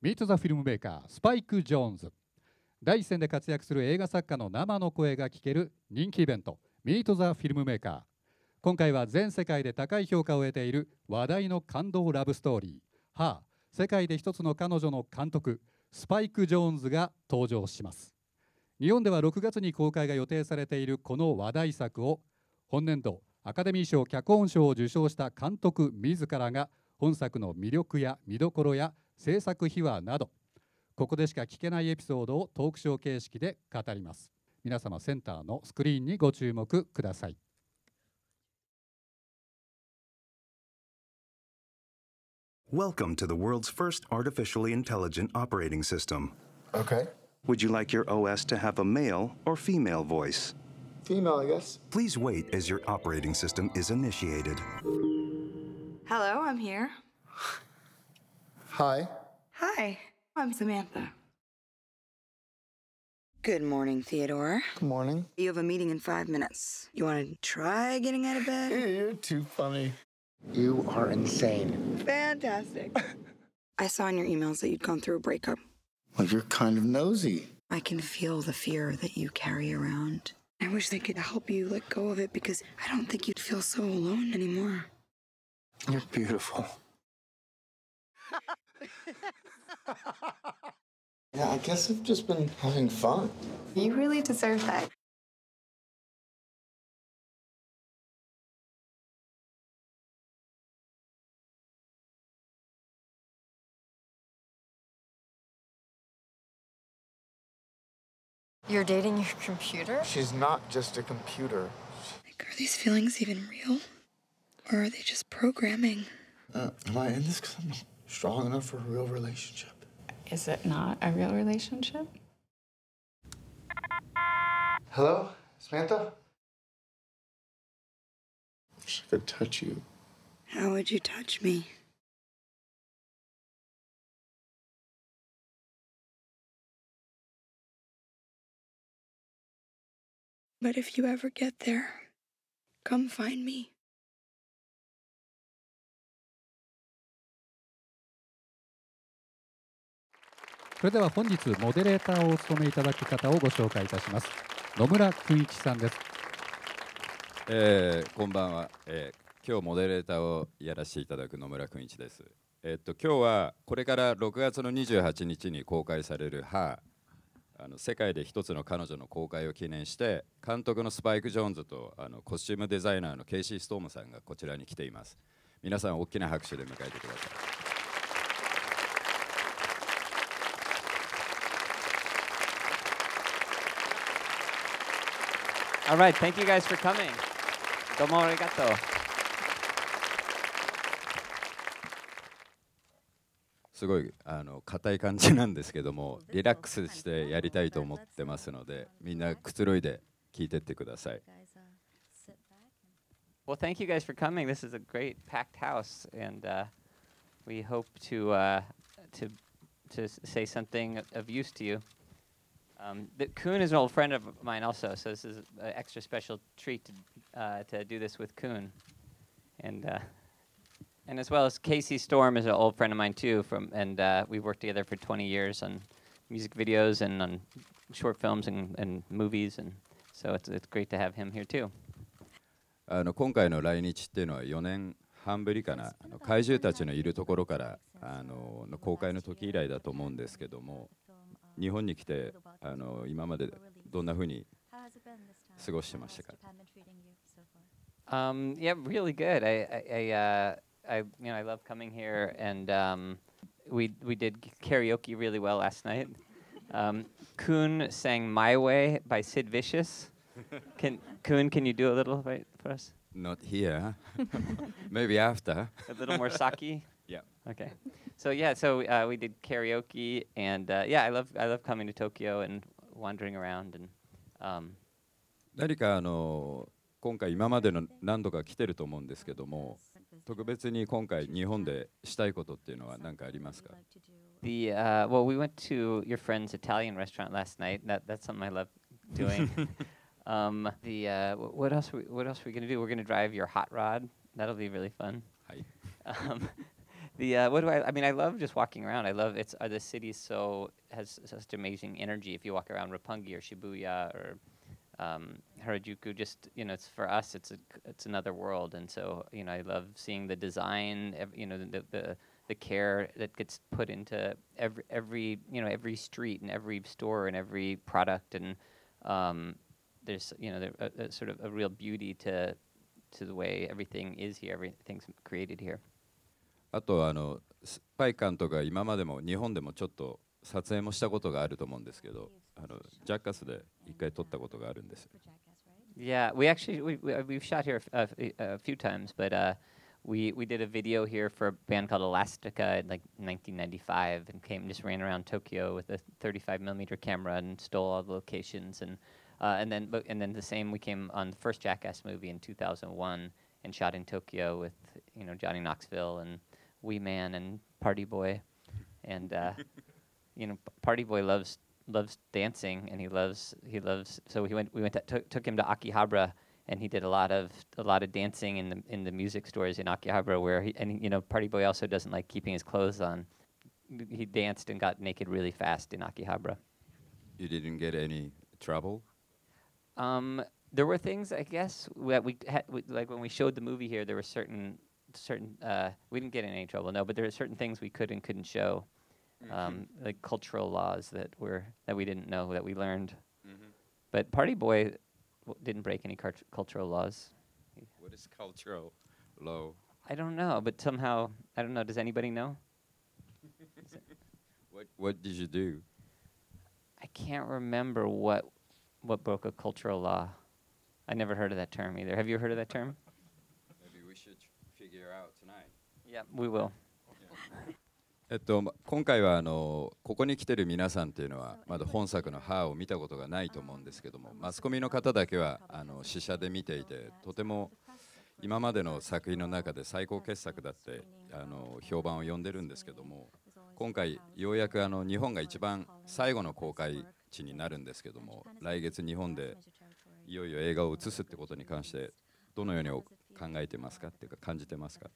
Meet the フィルムメーカースパイク・ジョーンズ。第一線で活躍する映画作家の生の声が聞ける人気イベント Meet the フィルムメーカー。今回は全世界で高い評価を得ている話題の感動ラブストーリーハー、世界で一つの彼女の監督スパイク・ジョーンズが登場します。日本では6月に公開が予定されているこの話題作を本年度アカデミー賞脚本賞を受賞した監督自らが本作の魅力や見どころや制作秘話などここでしか聞けないエピソードをトークショー形式で語ります。皆様センターのスクリーンにご注目ください。 Welcome to the world's first artificially intelligent operating system. Okay. Would you like your OS to have a male or female voice? Female, I guess. Please wait as your operating system is initiated. Hello, I'm here. Hi. Hi, I'm Samantha. Good morning, Theodore. Good morning. You have a meeting in 5 minutes. You want to try getting out of bed? You're too funny. You are insane. Fantastic. I saw in your emails that you'd gone through a breakup. Well, you're kind of nosy. I can feel the fear that you carry around. I wish they could help you let go of it because I don't think you'd feel so alone anymore. You're beautiful. Yeah, I guess I've just been having fun. You really deserve that. You're dating your computer? She's not just a computer. Like, are these feelings even real? Or are they just programming? Am I in this because I'm not strong enough for a real relationship? Is it not a real relationship? Hello? Samantha? I wish I could touch you. How would you touch me? But if you ever get there, come find me. それでは本日モデレーターをお務めいただく方をご紹介いたします。野村君一さんです。 こんばんは、今日モデレーターをやらせていただく野村君一です。今日はこれから6月の28日に公開されるハー、世界で一つの彼女の公開を記念して監督のスパイク・ジョーンズとコスチュームデザイナーのケイシー・ストームさんがこちらに来ています。皆さん大きな拍手で迎えてください。 All right, thank you guys for coming. どうもありがとう。 すごい硬い感じなんですけども、リラックスしてやりたいと思ってますので、みんなくつろいで聞いてってください。 Well, thank you guys for coming. This is a great packed house, and we hope to say something of use to you. Kuhn is an old friend of mine also, so this is an extra special treat to do this with Kuhn. And as well as Casey Storm is an old friend of mine too, and we've worked together for 20 years on music videos and on short films and movies, and so it's great to have him here too. 今回の来日っていうのは4年半ぶりかな、怪獣たちのいるところからの公開の時以来だと思うんですけども、日本に来て今までどんな風に過ごしてましたか ？Yeah, really good. I love coming here, and we did karaoke really well last night. Kuhn sang "My Way" by Sid Vicious. Kuhn, can you do a little bit for us? Not here. Maybe after. A little more sake. Yeah. Okay. So we did karaoke, and I love coming to Tokyo and wandering around and. 何か今回今までの何度か来てると思うんですけども、特別に今回日本でしたいことっていうのは何かありますか ？Well, we went to your friend's Italian restaurant last night. That's something I love doing. What else are we gonna do? We're gonna drive your hot rod. That'll be really fun. はい。 The what do I mean? I love just walking around. I love it's the city has such amazing energy. If you walk around Roppongi or Shibuya or Harajuku, just it's for us. It's another world, and so I love seeing the design. The care that gets put into every street and every store and every product, and there's a sort of a real beauty to the way everything is here. Everything's created here. あとスパイ監督が今までも日本でもちょっと撮影もしたことがあると思うんですけど、ジャッカスで一回撮ったことがあるんです。 Yeah, we've shot here a few times, but we did a video here for a band called Elastica in like 1995, and just ran around Tokyo with a 35mm camera and stole all the locations, and then the same we came on the first Jackass movie in 2001 and shot in Tokyo with Johnny Knoxville and Wee Man and Party Boy, and Party Boy loves dancing, and he loves so took him to Akihabara, and he did a lot of dancing in the music stores in Akihabara, where Party Boy also doesn't like keeping his clothes on. He danced and got naked really fast in Akihabara. You didn't get any trouble? There were things, I guess, that we had, like when we showed the movie here, there were certain we didn't get in any trouble, no, but there were certain things we could and couldn't show, like cultural laws that we didn't know, that we learned. But Party Boy didn't break any cultural laws. What is cultural law? I don't know, but somehow, I don't know, does anybody know? What did you do? I can't remember what broke a cultural law. I never heard of that term either. Have you heard of that term? Maybe we should figure out tonight. Yeah, we will. 今回はここに来てる皆さんっていうのはまだ本作の「ハー」を見たことがないと思うんですけども、マスコミの方だけは試写で見ていて、とても今までの作品の中で最高傑作だって評判を呼んでるんですけども、今回ようやく日本が一番最後の公開地になるんですけども、来月日本でいよいよ映画を映すってことに関してどのように考えてますかっていうか感じてますか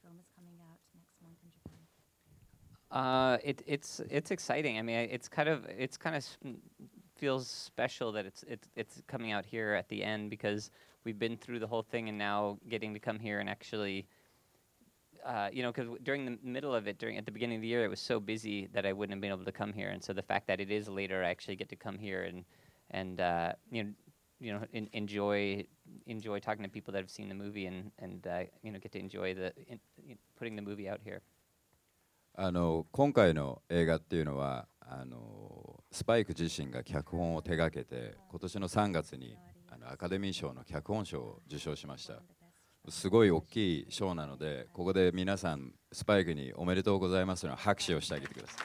？It's exciting. I mean, it's kind of feels special that it's coming out here at the end, because we've been through the whole thing and now getting to come here and actually, because during the middle of it, at the beginning of the year, it was so busy that I wouldn't have been able to come here, and so the fact that it is later, I actually get to come here and enjoy talking to people that have seen the movie and get to enjoy putting the movie out here. 今回の映画っていうのはスパイク自身が脚本を手掛けて、今年の3月にアカデミー賞の脚本賞を受賞しました。すごい大きい賞なので、ここで皆さんスパイクにおめでとうございますの拍手をしてあげてくださ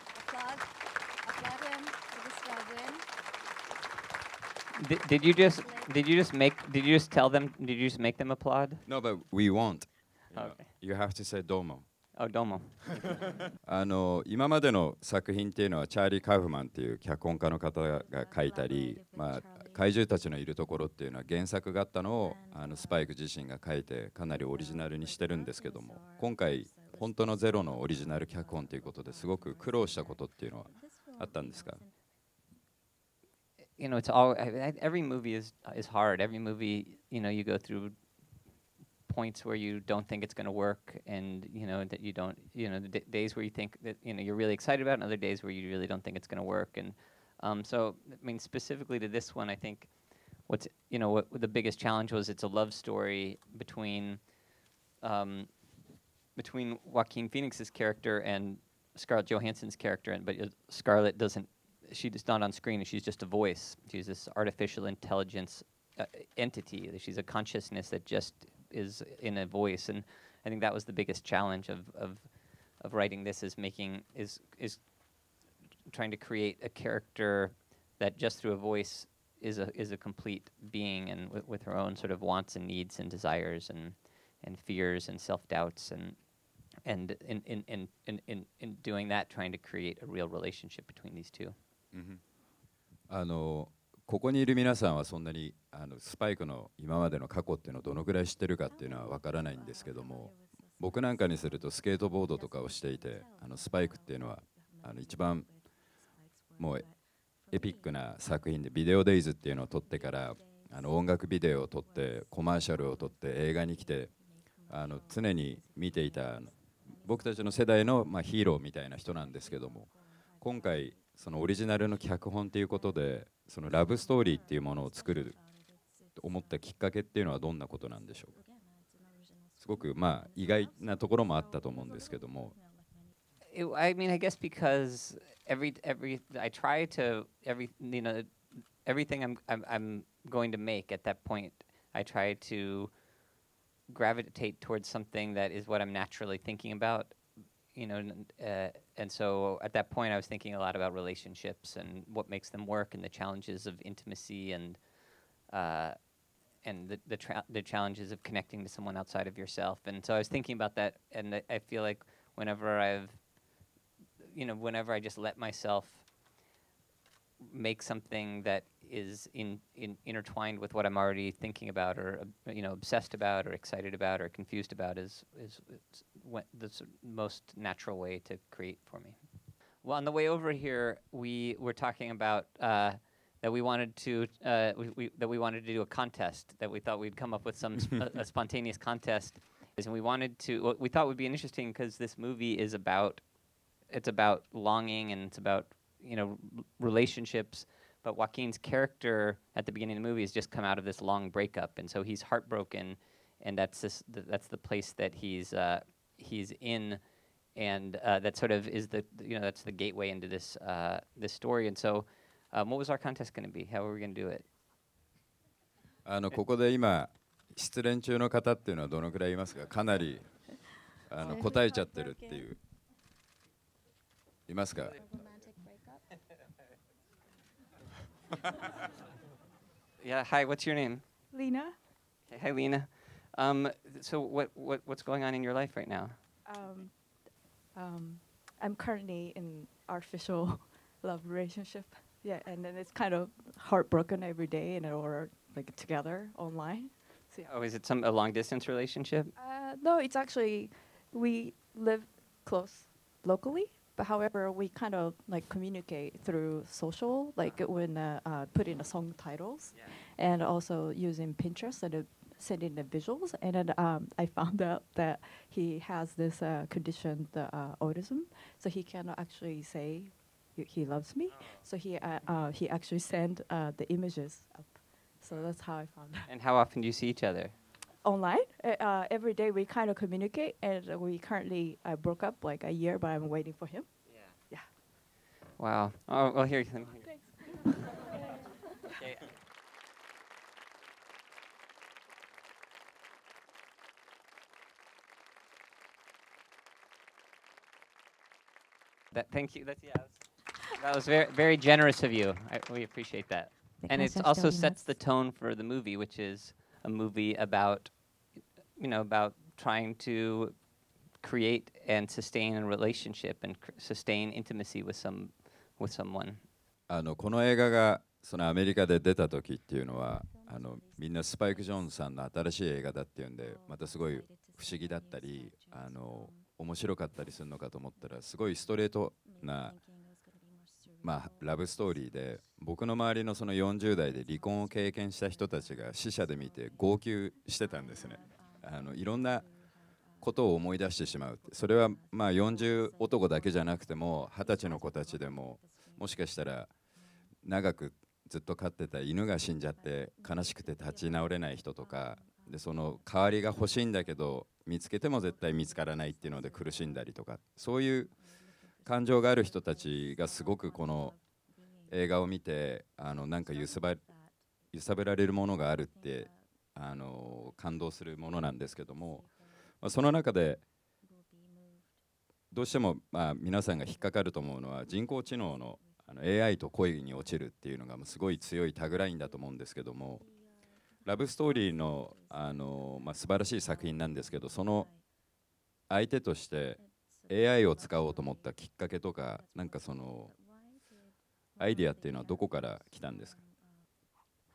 い。 Did you just make them applaud? No, but we won't. Okay. You have to say どうも。 Oh, どうも。 今までの作品っていうのはチャーリー・カウフマンっていう脚本家の方が書いたり、怪獣たちのいるところっていうのは原作があったのをスパイク自身が書いてかなりオリジナルにしてるんですけども、今回本当のゼロのオリジナル脚本ということですごく苦労したことっていうのはあったんですか ？It's all every movie is hard. Every movie, you go through points where you don't think it's going to work, and that you don't, the days where you think that you're really excited about it, and other days where you really don't think it's going to work. And so I mean, specifically to this one, I think what the biggest challenge was, it's a love story between Joaquin Phoenix's character and Scarlett Johansson's character, but Scarlett she's not on screen, and she's just a voice. She's this artificial intelligence entity. She's a consciousness that just is in a voice, and I think that was the biggest challenge of writing this, is trying to create a character that just through a voice is a complete being, and with her own sort of wants and needs and desires and fears and self-doubts, and in doing that, trying to create a real relationship between these two. ここにいる皆さんはそんなにスパイクの今までの過去っていうのをどのぐらい知ってるかっていうのはわからないんですけども、 僕なんかにするとスケートボードとかをしていて、スパイクっていうのは一番もうエピックな作品で、ビデオデイズっていうのを撮ってから音楽ビデオを撮ってコマーシャルを撮って映画に来て、常に見ていた僕たちの世代の、ヒーローみたいな人なんですけども、今回そのオリジナルの脚本ということで、そのラブストーリーっていうものを作ると思ったきっかけっていうのはどんなことなんでしょうか。すごく意外なところもあったと思うんですけども。 I mean, I guess because I try to everything I'm going to make at that point, I try to gravitate towards something that is what I'm naturally thinking about, and so at that point I was thinking a lot about relationships and what makes them work and the challenges of intimacy and the challenges of connecting to someone outside of yourself. And so I was thinking about that, and I feel like whenever I just let myself make something that is intertwined with what I'm already thinking about, or obsessed about, or excited about, or confused about, is the most natural way to create for me. Well, on the way over here, we were talking about that we wanted to that we wanted to do a contest, that we thought we'd come up with some a spontaneous contest, and we wanted to. What we thought would be interesting, because this movie is about longing, and it's about relationships. But Joaquin's character at the beginning of the movie has just come out of this long breakup, and so he's heartbroken, and that's the place that he's in, and that sort of is that's the gateway into this story. And so, what was our contest going to be? How were we going to do it? ここで今失恋中の方っていうのはどのくらいいますか。かなり答えちゃってるっていう、いますか。 Yeah. Hi. What's your name? Lena. Okay, hi, Lena. So what's going on in your life right now? I'm currently in artificial love relationship. Yeah, and then it's kind of heartbroken every day, and we're like together online. So, yeah. Oh, is it a long distance relationship? No, it's actually we live close locally. But however, we kind of like communicate through social, like when put in the song titles, and also using Pinterest and sending the visuals. And then I found out that he has this condition, the autism, so he cannot actually say he loves me. So he actually sent the images up. So that's how I found out. And how often do you see each other? Online. Every day we kind of communicate, and we currently broke up like a year, but I'm waiting for him. Yeah. Wow. Oh, well, here. Thanks. Okay. Thank you. That was very, very generous of you. We appreciate that. And it also sets the tone for the movie, which is a movie about, about trying to create and sustain a relationship and sustain intimacy with someone. この映画がそのアメリカで出た時っていうのはみんなスパイク・ジョーンズさんの新しい映画だっていうんで、またすごい不思議だったり面白かったりするのかと思ったら、すごいストレートなラブストーリーで、僕の周りのその40代で離婚を経験した人たちが死者で見て号泣してたんですね。いろんなことを思い出してしまう。それは40男だけじゃなくても20歳の子たちでも、もしかしたら長くずっと飼ってた犬が死んじゃって悲しくて立ち直れない人とかで、その代わりが欲しいんだけど見つけても絶対見つからないっていうので苦しんだりとか、そういう感情がある人たちがすごくこの映画を見てなんか揺さぶられるものがあるって感動するものなんですけども、その中でどうしても皆さんが引っかかると思うのは、人工知能のAI と恋に落ちるっていうのがすごい強いタグラインだと思うんですけども、ラブストーリーの素晴らしい作品なんですけど、その相手として AI を使おうと思ったきっかけとか、なんかそのアイディアっていうのはどこから来たんですか。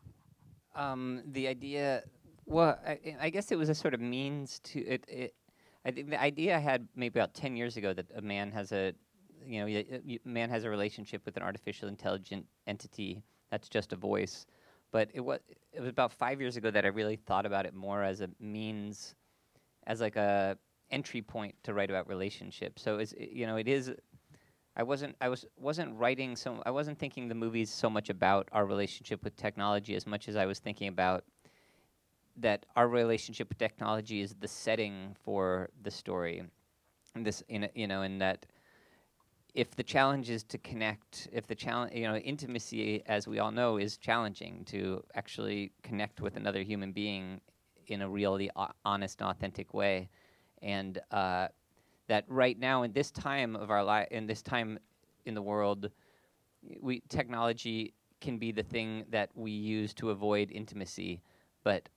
The idea, well, I guess it was a sort of means to it. I think the idea I had maybe about 10 years ago that a man has a, man has a relationship with an artificial intelligent entity that's just a voice. But it was about 5 years ago that I really thought about it more as a means, as like a entry point to write about relationships. So it is. I wasn't thinking the movies so much about our relationship with technology as much as I was thinking about that our relationship with technology is the setting for the story. And and that if the challenge is to connect, if the challenge, intimacy, as we all know, is challenging to actually connect with another human being in a really honest and authentic way. And that right now, in this time of our life, in this time in the world, technology can be the thing that we use to avoid intimacy, but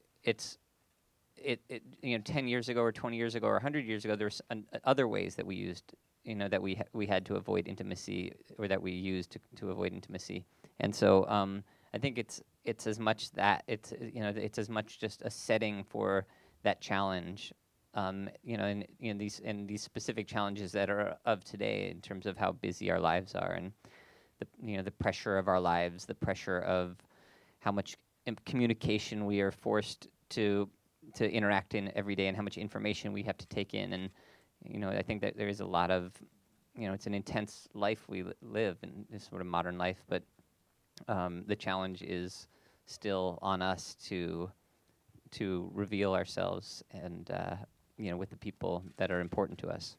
10 years ago or 20 years ago or 100 years ago, there's other ways that we used, that we had to avoid intimacy, or that we used to avoid intimacy. And so I think it's as much that it's as much just a setting for that challenge, these specific challenges that are of today in terms of how busy our lives are, and the pressure of our lives, the pressure of how much communication we are forced to interact in every day, and how much information we have to take in. And I think that there is a lot of, it's an intense life we live in, this sort of modern life, but the challenge is still on us to reveal ourselves and with the people that are important to us.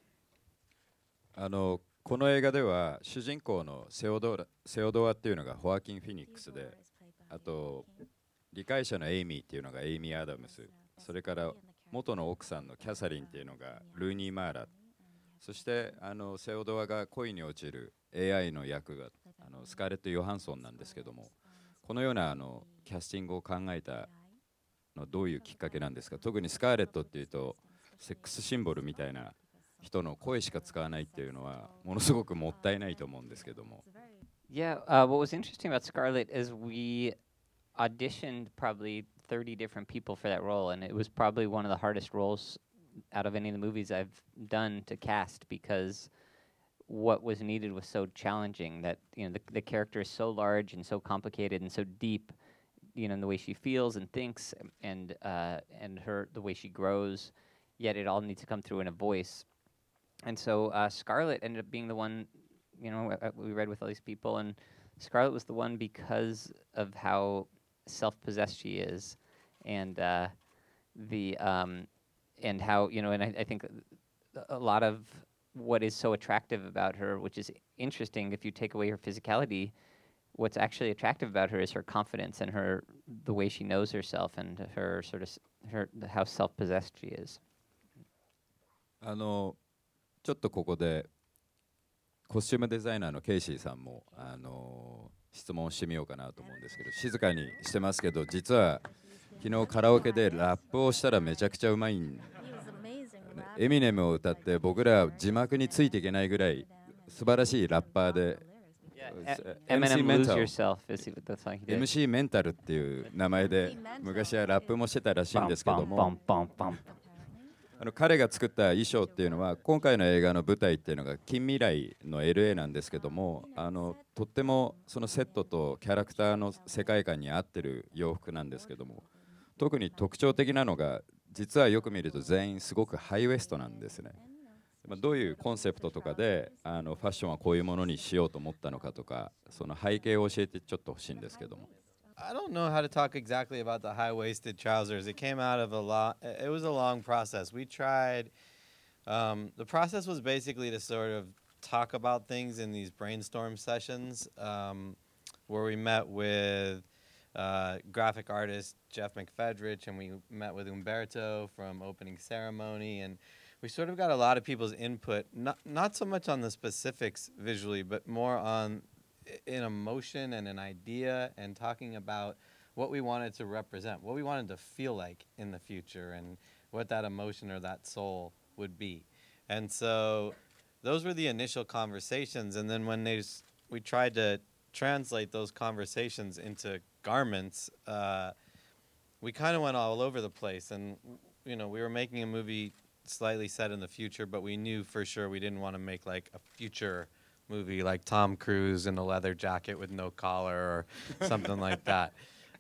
この映画では主人公のセオドアっていうのがホアキン・フィニックスで、あと理解者のエイミーっていうのがエイミー・アダムス、それから元の奥さんのキャサリンっていうのがルーニー・マーラ、そしてセオドアが恋に落ちる AI の役がスカーレット・ヨハンソンなんですけども、このようなキャスティングを考えたのはどういうきっかけなんですか？特にスカーレットっていうとセックスシンボルみたいな人の声しか使わないっていうのはものすごくもったいないと思うんですけども。 Yeah, what was interesting about Scarlett is we auditioned probably 30 different people for that role, and it was probably one of the hardest roles out of any of the movies I've done to cast, because what was needed was so challenging, that the character is so large and so complicated and so deep, in the way she feels and thinks, and the way she grows, yet it all needs to come through in a voice. And so Scarlett ended up being the one, we read with all these people, and Scarlett was the one because of how self-possessed she is, and and how, and I think a lot of what is so attractive about her, which is interesting if you take away her physicality, what's actually attractive about her is her confidence and the way she knows herself, and how self-possessed she is. ちょっとここでコスチュームデザイナーのケイシーさんも質問してみようかなと思うんですけど、静かにしてますけど、実は昨日カラオケでラップをしたらめちゃくちゃうまいん、エミネムを歌って僕ら字幕についていけないぐらい素晴らしいラッパーで、 Eminem Lose Yourself is the song he did. MC メンタルっていう名前で昔はラップもしてたらしいんですけども、彼が作った衣装っていうのは今回の映画の舞台っていうのが近未来の LA なんですけども、とってもそのセットとキャラクターの世界観に合ってる洋服なんですけども、特に特徴的なのが実はよく見ると全員すごくハイウエストなんですね。どういうコンセプトとかでファッションはこういうものにしようと思ったのかとか、その背景を教えてちょっと欲しいんですけども。 I don't know how to talk exactly about the high-waisted trousers. It came out of it was a long process. We tried, the process was basically to sort of talk about things in these brainstorm sessions, where we met with graphic artist Jeff McFedrich, and we met with Umberto from Opening Ceremony, and we sort of got a lot of people's input, not so much on the specifics visually, but more on an emotion and an idea, and talking about what we wanted to represent, what we wanted to feel like in the future, and what that emotion or that soul would be. And so those were the initial conversations, and then when we tried to translate those conversations into garments, we kind of went all over the place. And we were making a movie slightly set in the future, but we knew for sure we didn't want to make like a future movie like Tom Cruise in a leather jacket with no collar or something like that.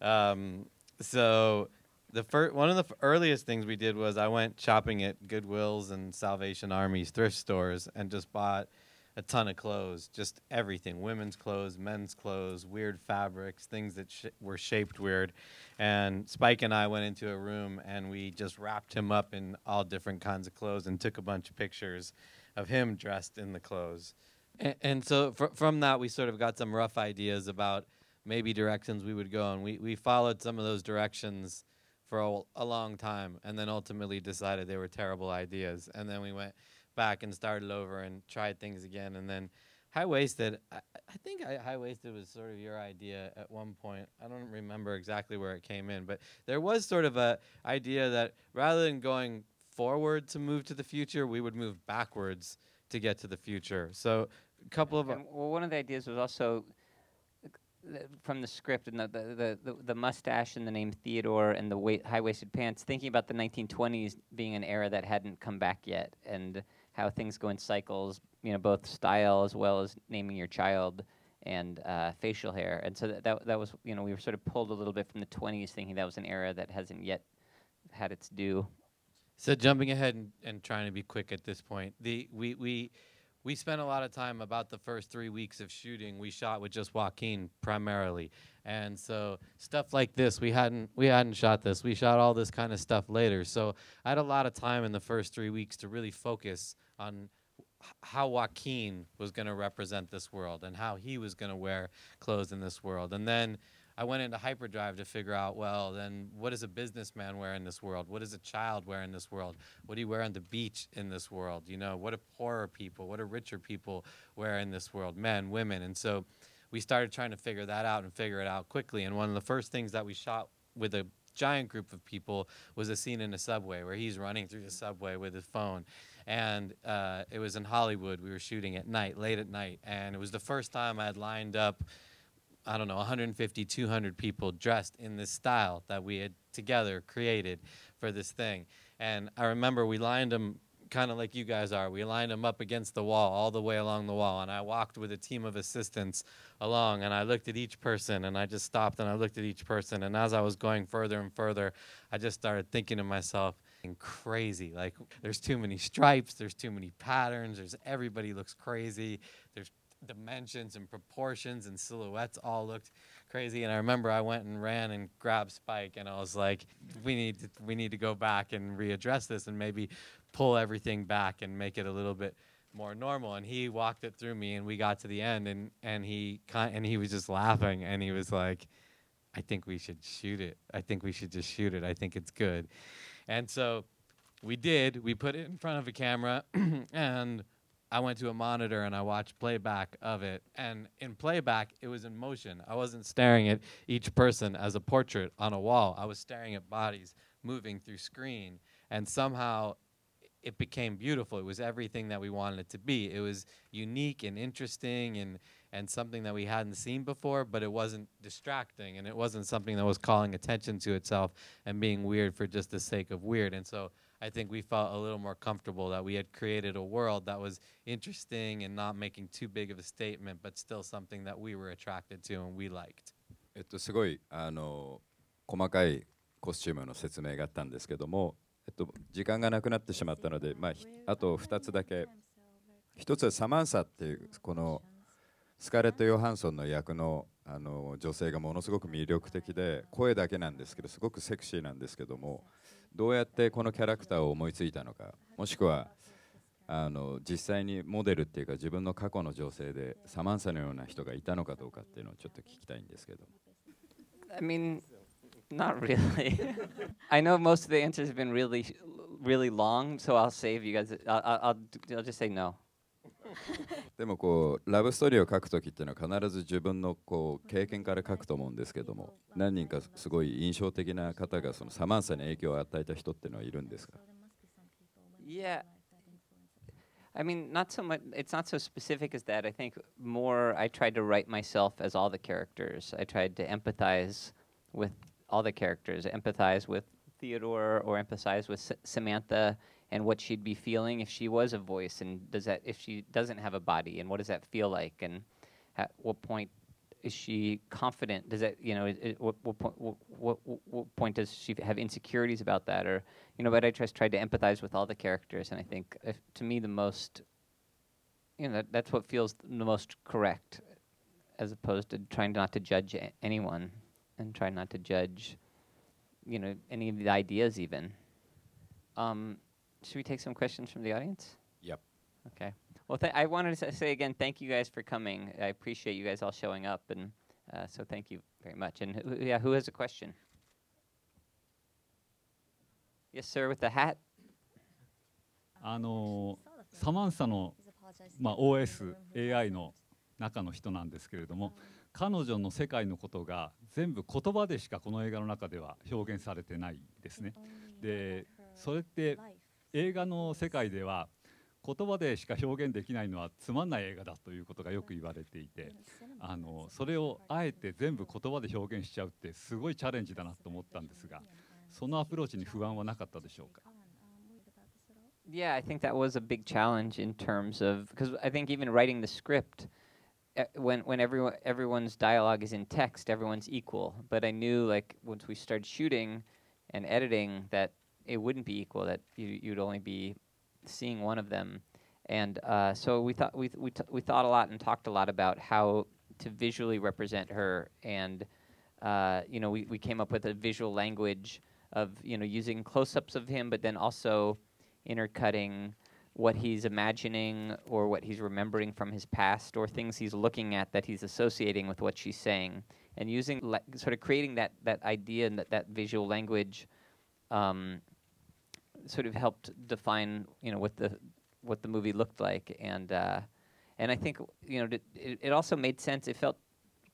So one of the earliest things we did was I went shopping at Goodwills and Salvation Army's thrift stores and just bought a ton of clothes, just everything, women's clothes, men's clothes, weird fabrics, things that were shaped weird. And Spike and I went into a room and we just wrapped him up in all different kinds of clothes and took a bunch of pictures of him dressed in the clothes. And so from that, we sort of got some rough ideas about maybe directions we would go. And we followed some of those directions for a long time and then ultimately decided they were terrible ideas. And then we went back and started over and tried things again. And then High-Waisted, I think High-Waisted was sort of your idea at one point. I don't remember exactly where it came in, but there was sort of a idea that rather than going forward to move to the future, we would move backwards to get to the future. So a couple of... well, one of the ideas was also from the script and the mustache and the name Theodore and the high-waisted pants, thinking about the 1920s being an era that hadn't come back yet and how things go in cycles, both style as well as naming your child and facial hair. And so that was, we were sort of pulled a little bit from the 20s thinking that was an era that hasn't yet had its due. So jumping ahead and trying to be quick at this point, we spent a lot of time about the first 3 weeks of shooting. We shot with just Joaquin primarily. And so stuff like this, we hadn't shot this. We shot all this kind of stuff later. So I had a lot of time in the first 3 weeks to really focus on how Joaquin was going to represent this world and how he was going to wear clothes in this world. And then I went into hyperdrive to figure out, well, then what does a businessman wear in this world? What does a child wear in this world? What do you wear on the beach in this world? What do poorer people, what do richer people wear in this world? Men, women. And so we started trying to figure that out and figure it out quickly. And one of the first things that we shot with a giant group of people was a scene in a subway where he's running through the subway with his phone. And it was in Hollywood. We were shooting at night, late at night. And it was the first time I had lined up 150, 200 people dressed in this style that we had together created for this thing. And I remember we lined them kind of like you guys are. We lined them up against the wall, all the way along the wall. And I walked with a team of assistants along, and I looked at each person, and I just stopped, and I looked at each person. And as I was going further and further, I just started thinking to myself, crazy. Like, there's too many stripes, there's too many patterns, everybody looks crazy, there's dimensions and proportions and silhouettes all looked crazy. And I remember I went and ran and grabbed Spike, and I was like, we need to go back and readdress this and maybe pull everything back and make it a little bit more normal. And he walked it through me, and we got to the end, and he was just laughing, and he was like, I think we should shoot it. I think we should just shoot it. I think it's good. And so we did. We put it in front of a camera, and I went to a monitor and I watched playback of it. And in playback, it was in motion. I wasn't staring at each person as a portrait on a wall. I was staring at bodies moving through screen. And somehow it became beautiful. It was everything that we wanted it to be. It was unique and interesting and something that we hadn't seen before, but it wasn't distracting, and it wasn't something that was calling attention to itself and being weird for just the sake of weird. And so I think we felt a little more comfortable that we had created a world that was interesting and not making too big of a statement, but still something that we were attracted to and we liked. すごい細かいコスチュームの説明があったんですけども、時間がなくなってしまったので、あと2つだけ。一つはサマンサっていうこのスカーレット・ヨハンソンの役の女性がものすごく魅力的で、声だけなんですけどすごくセクシーなんですけども、どうやってこのキャラクターを思いついたのか、もしくは実際にモデルっていうか自分の過去の女性でサマンサのような人がいたのかどうかっていうのをちょっと聞きたいんですけど。 I mean, not really. I know most of the answers have been really, really long, so I'll save you guys. I'll just say no. でもこうラブストーリーを書くときっていうのは必ず自分のこう経験から書くと思うんですけども、何人かすごい印象的な方がそのサマンサに影響を与えた人っていうのはいるんですか？ Yeah. I mean, not so much. It's not so specific as that. I think more I tried to write myself as all the characters. I tried to empathize with all the characters, empathize with Theodore or empathize with Samantha and what she'd be feeling if she was a voice, and does that if she doesn't have a body, and what does that feel like, and at what point is she confident? Does that what point does she have insecurities about that, or But I just tried to empathize with all the characters, and I think to me the most that's what feels the most correct, as opposed to trying not to judge anyone and trying not to judge any of the ideas even. Should we take some questions from the audience? Yep. Okay. Well, I wanted to say again, thank you guys for coming. I appreciate you guys all showing up, and so thank you very much. And who has a question? Yes, sir, with the hat. サマンサの、OS AI の中の人なんですけれども、彼女の世界のことが全部言葉でしかこの映画の中では表現されてないですね。で、それって映画の世界では言葉でしか表現できないのはつまんない映画だということがよく言われていて、それをあえて全部言葉で表現しちゃうってすごいチャレンジだなと思ったんですが、そのアプローチに不安はなかったでしょうか。 Yeah, I think that was a big challenge in terms of, because I think even writing the script, when everyone's dialogue is in text, everyone's equal. But I knew, like, once we started shooting and editing, that it wouldn't be equal. That you'd only be seeing one of them. And so we thought a lot and talked a lot about how to visually represent her. And we came up with a visual language of using close-ups of him, but then also intercutting what he's imagining or what he's remembering from his past, or things he's looking at that he's associating with what she's saying, and using sort of creating that idea and that visual language sort of helped define what the movie looked like. And I think it also made sense. It felt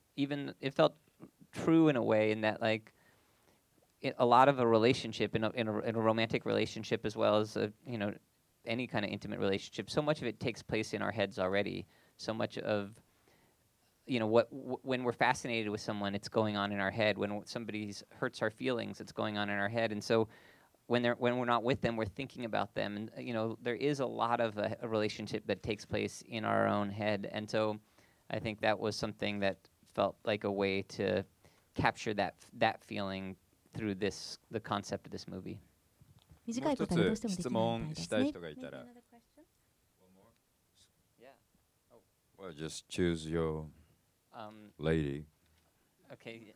true in a way, in that, like, a lot of a relationship, in a romantic relationship, as well as any kind of intimate relationship, so much of it takes place in our heads already. So much of when we're fascinated with someone, it's going on in our head. When somebody hurts our feelings, it's going on in our head. And so when we're not with them, we're thinking about them. And there is a lot of a relationship that takes place in our own head. And so I think that was something that felt like a way to capture that feeling through the concept of this movie. もう一つ質問したい人がいたら。Well, just choose your lady. Okay.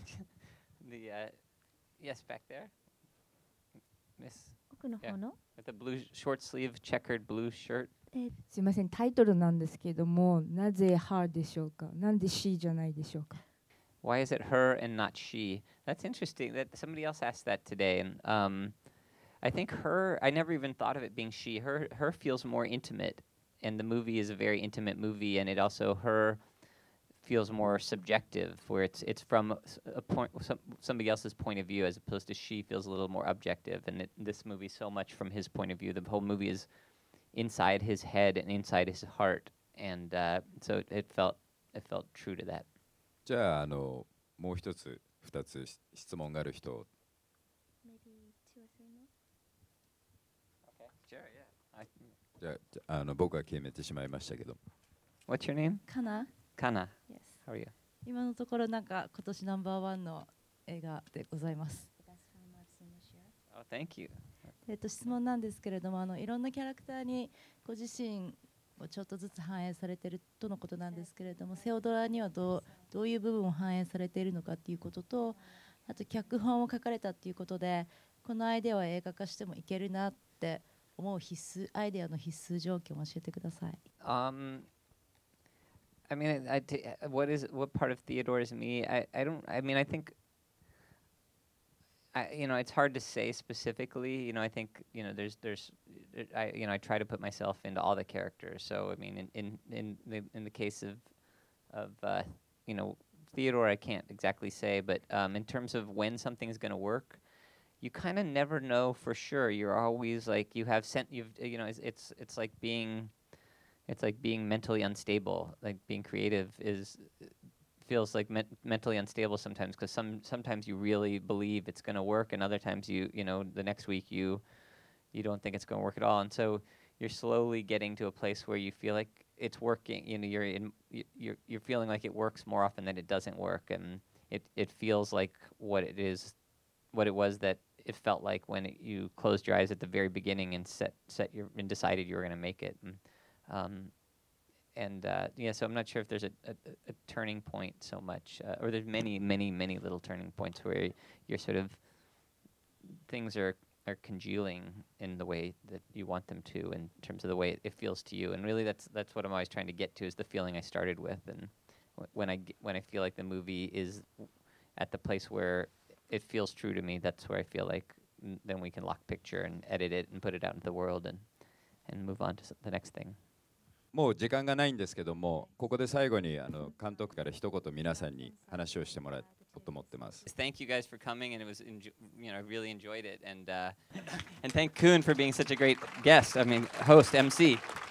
Yes, back there. Miss. Yeah. With the blue short sleeve checkered blue shirt. すいません、タイトルなんですけども、なぜ her でしょうか。なんで she じゃないでしょうか。 Why is it her and not she? That's interesting. That somebody else asked that today, and I think her. I never even thought of it being she. Her feels more intimate, and the movie is a very intimate movie, and it also her feels more subjective, where it's from a point somebody else's point of view, as opposed to she feels a little more objective. And this movie so much from his point of view. The whole movie is inside his head and inside his heart, and so it felt true to that. じゃあもう一つ二つ質問がある人。じゃあ僕は決めてしまいましたけど。 What's your name? Kana. Kana. Yes. How are you? 今のところなんか今年ナンバーワンの映画でございます。 Oh, thank you. 質問なんですけれども、いろんなキャラクターにご自身をちょっとずつ反映されているとのことなんですけれども、セオドラにはどういう部分を反映されているのかということと、あと脚本を書かれたということで、このアイデアは映画化してもいけるなって思うアイデアの必須条件を教えてください。 I mean, what part of Theodore is me? I think it's hard to say specifically. I think I try to put myself into all the characters. So I mean, in the case of Theodore, I can't exactly say, but in terms of when something is going to work, you kind of never know for sure. You're always like it's like being mentally unstable. Like being creative feels like mentally unstable sometimes, because sometimes you really believe it's going to work, and other times the next week you you don't think it's going to work at all, and so you're slowly getting to a place where you feel like it's working. You know, you're feeling like it works more often than it doesn't work, and it feels like what it was that it felt like when you closed your eyes at the very beginning and and decided you were going to make it. So I'm not sure if there's a turning point so much, or there's many little turning points where you're sort of things are congealing in the way that you want them to, in terms of the way it feels to you. And really, that's what I'm always trying to get to, is the feeling I started with. And when I feel like the movie is at the place where it feels true to me, that's where I feel like then we can lock picture and edit it and put it out into the world and move on to the next thing. もう時間がないんですけども、ここで最後に監督から一言皆さんに話をしてもらおうと思ってます。 Thank you guys for coming, and it was I really enjoyed it, and thank Kuhn for being such a great guest. I mean, host, MC.